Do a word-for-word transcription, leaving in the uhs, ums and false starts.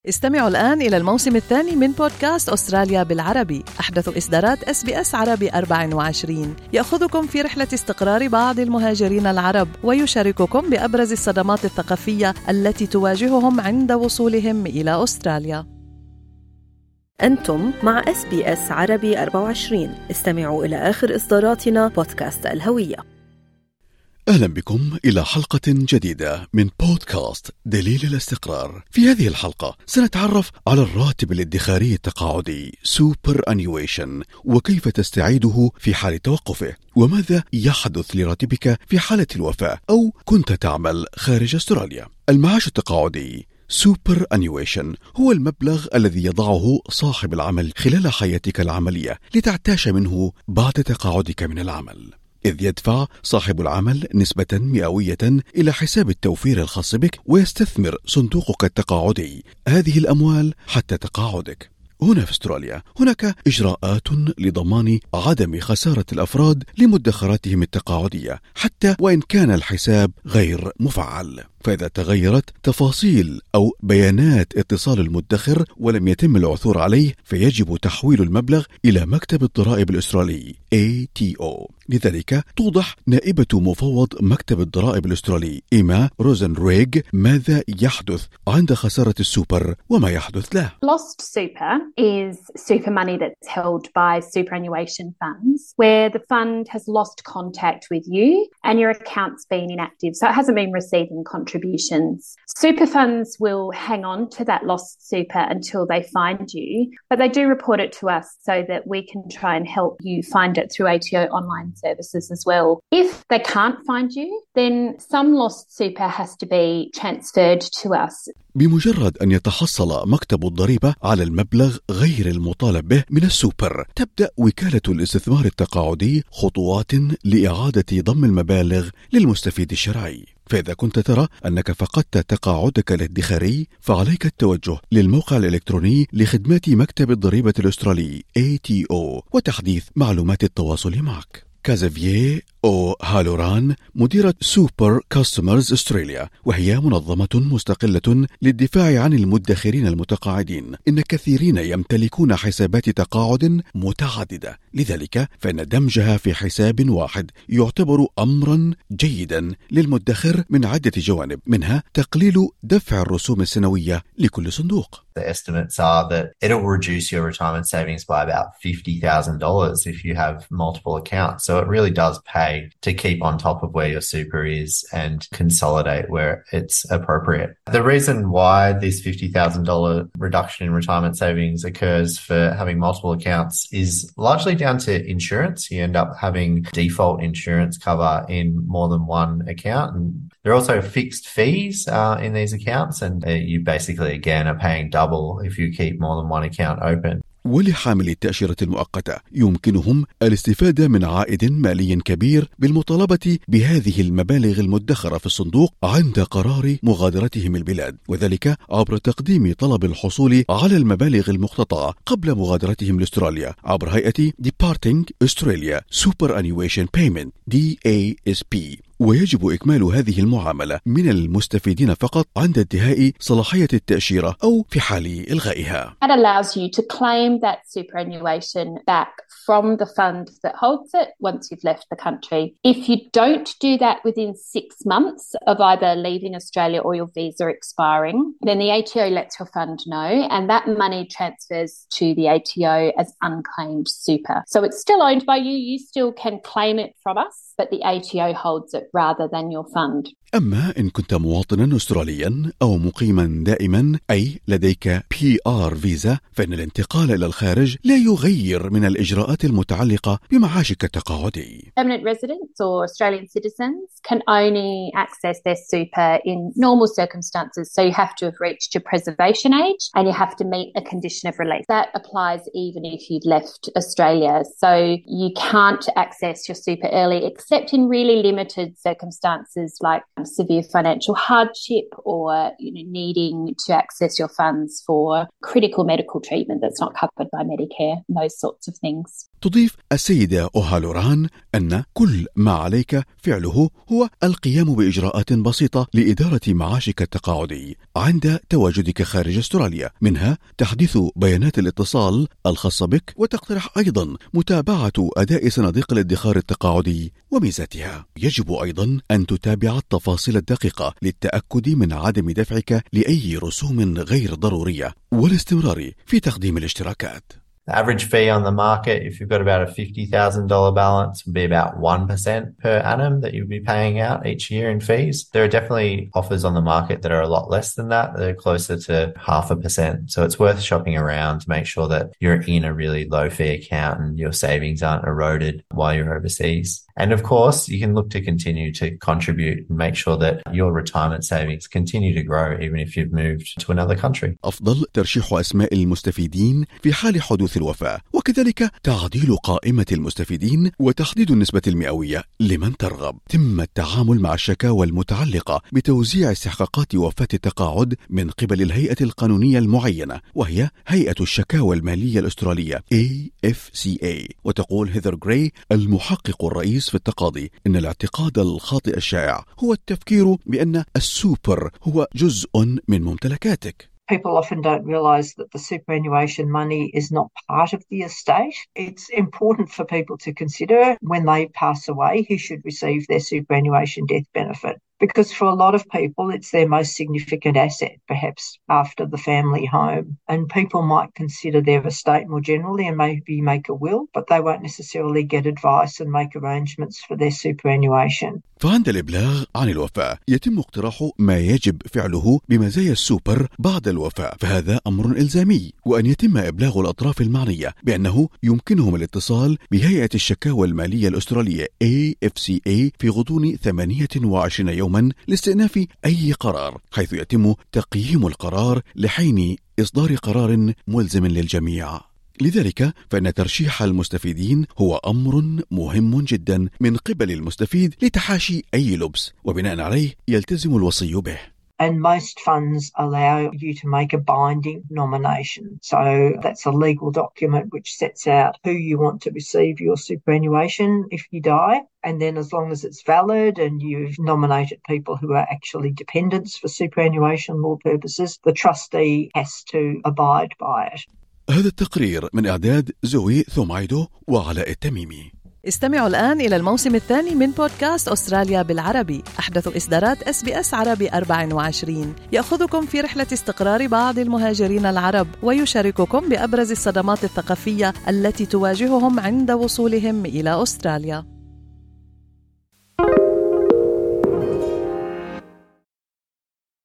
استمعوا الآن إلى الموسم الثاني من بودكاست أستراليا بالعربي، أحدث إصدارات إس بي إس عربي أربعة وعشرين، يأخذكم في رحلة استقرار بعض المهاجرين العرب ويشارككم بأبرز الصدمات الثقافية التي تواجههم عند وصولهم إلى أستراليا. أنتم مع إس بي إس عربي أربعة وعشرين. استمعوا إلى آخر إصداراتنا بودكاست الهوية. أهلا بكم إلى حلقة جديدة من بودكاست دليل الاستقرار. في هذه الحلقة سنتعرف على الراتب الادخاري التقاعدي سوبر أنيويشن وكيف تستعيده في حال توقفه، وماذا يحدث لراتبك في حالة الوفاة أو كنت تعمل خارج أستراليا. المعاش التقاعدي سوبر أنيويشن هو المبلغ الذي يضعه صاحب العمل خلال حياتك العملية لتعتاش منه بعد تقاعدك من العمل، إذ يدفع صاحب العمل نسبة مئوية إلى حساب التوفير الخاص بك، ويستثمر صندوقك التقاعدي هذه الأموال حتى تقاعدك. هنا في أستراليا هناك إجراءات لضمان عدم خسارة الأفراد لمدخراتهم التقاعدية حتى وإن كان الحساب غير مفعل، فإذا تغيرت تفاصيل أو بيانات اتصال المدخر ولم يتم العثور عليه فيجب تحويل المبلغ إلى مكتب الضرائب الأسترالي إيه تي أو. لذلك توضح نائبة مفوض مكتب الضرائب الأسترالي إيما روزنريغ ماذا يحدث عند خسارة السوبر وما يحدث له. Lost super is super money that's held by superannuation funds where the fund has lost contact with you and your account's been inactive, so it hasn't been receiving contributions. Super funds will hang on to that lost super until they find you, but they do report it to us so that we can try and help you find it through A T O online services as well. If they can't find you, then some lost super has to be transferred to us. بمجرد أن يتحصل مكتب الضريبة على المبلغ غير المطالب به من السوبر، تبدأ وكالة الاستثمار التقاعدي خطوات لإعادة ضم المبالغ للمستفيد الشرعي. فإذا كنت ترى أنك فقدت تقاعدك الادخاري فعليك التوجه للموقع الإلكتروني لخدمات مكتب الضريبة الأسترالي إيه تي أو وتحديث معلومات التواصل معك. كازافييه أو هالوران مديرة سوبر كاستمرز أستراليا، وهي منظمة مستقلة للدفاع عن المدخرين المتقاعدين، إن كثيرين يمتلكون حسابات تقاعد متعددة، لذلك فإن دمجها في حساب واحد يعتبر أمرا جيدا للمدخر من عدة جوانب، منها تقليل دفع الرسوم السنوية لكل صندوق. The estimates are that it'll reduce your retirement savings by about fifty thousand dollars if you have multiple accounts. So it really does pay to keep on top of where your super is and consolidate where it's appropriate. The reason why this fifty thousand dollars reduction in retirement savings occurs for having multiple accounts is largely down to insurance. You end up having default insurance cover in more than one account. And there are also fixed fees uh, in these accounts, and uh, you basically, again, are paying double if you keep more than one account open. ولحاملي التأشيرة المؤقتة يمكنهم الاستفادة من عائد مالي كبير بالمطالبة بهذه المبالغ المدخرة في الصندوق عند قرار مغادرتهم البلاد، وذلك عبر تقديم طلب الحصول على المبالغ المقتطعة قبل مغادرتهم لاستراليا عبر هيئة Departing Australia Superannuation Payment دي إيه إس بي. ويجب إكمال هذه المعاملة من المستفيدين فقط عند انتهاء صلاحية التأشيرة أو في حال إلغائها. That allows you to claim that superannuation back from the fund that holds it once you've left the country. If you don't do that within six months of either leaving Australia or your visa expiring, then the A T O lets your fund know and that money transfers to the A T O as unclaimed super. So it's still owned by you, you still can claim it from us, but the A T O holds it rather than your fund. أما إن كنت مواطنا أستراليا أو مقيما دائما أي لديك بي آر فيزا فإن الانتقال إلى الخارج لا يغير من الإجراءات المتعلقة بمعاشك التقاعدي. Permanent residents or Australian citizens can only access their super in normal circumstances. So you have to have reached your preservation age and you have to meet a condition of release. That applies even if you've left Australia. So you can't access your super early except in really limited circumstances like severe financial hardship or, you know, needing to access your funds for critical medical treatment that's not covered by Medicare, those sorts of things. تضيف السيدة أوهالوران أن كل ما عليك فعله هو القيام بإجراءات بسيطة لإدارة معاشك التقاعدي عند تواجدك خارج أستراليا، منها تحديث بيانات الاتصال الخاصة بك، وتقترح أيضا متابعة أداء صناديق الادخار التقاعدي وميزاتها. يجب أيضا أن تتابع التفاصيل الدقيقة للتأكد من عدم دفعك لأي رسوم غير ضرورية والاستمرار في تقديم الاشتراكات. The average fee on the market, if you've got about a fifty thousand dollars balance, would be about one percent per annum that you'll be paying out each year in fees. There are definitely offers on the market that are a lot less than that. They're closer to half a percent. So it's worth shopping around to make sure that you're in a really low fee account and your savings aren't eroded while you're overseas. And of course, you can look to continue to contribute and make sure that your retirement savings continue to grow even if you've moved to another country. أفضل ترشيح أسماء المستفيدين في حال حدوث الوفاة، وكذلك تعديل قائمة المستفيدين وتحديد النسبة المئوية لمن ترغب. تم التعامل مع الشكاوى المتعلقة بتوزيع استحقاقات وفاة التقاعد من قبل الهيئة القانونية المعينة، وهي هيئة الشكاوى المالية الأسترالية إيه إف سي إيه. وتقول هيثر غراي المحقق الرئيس في التقاضي إن الاعتقاد الخاطئ الشائع هو التفكير بأن السوبر هو جزء من ممتلكاتك. People often don't realise that the superannuation money is not part of the estate. It's important for people to consider when they pass away who should receive their superannuation death benefit. Because for a lot of people, it's their most significant asset, perhaps after the family home. And people might consider their estate more generally and maybe make a will, but they won't necessarily get advice and make arrangements for their superannuation. فعند الإبلاغ عن الوفاة يتم اقتراح ما يجب فعله بمزايا السوبر بعد الوفاة، فهذا أمر إلزامي، وأن يتم إبلاغ الأطراف المعنية بأنه يمكنهم الاتصال بهيئة الشكاوى المالية الأسترالية إيه إف سي إيه في غضون ثمانية وعشرين يوما لاستئناف أي قرار، حيث يتم تقييم القرار لحين إصدار قرار ملزم للجميع. لذلك فإن ترشيح المستفيدين هو أمر مهم جدا من قبل المستفيد لتحاشي أي لبس، وبناء عليه يلتزم الوصي به. And most funds allow you to make a binding nomination. So that's a legal document which sets out who you want to receive your superannuation if you die. And then as long as it's valid and you've nominated people who are actually dependents for superannuation law purposes, the trustee has to abide by it. هذا التقرير من إعداد زوي ثومايدو وعلاء التميمي. استمعوا الآن إلى الموسم الثاني من بودكاست أستراليا بالعربي، أحدث إصدارات إس بي إس عربي أربعة وعشرين، يأخذكم في رحلة استقرار بعض المهاجرين العرب ويشارككم بأبرز الصدمات الثقافية التي تواجههم عند وصولهم إلى أستراليا.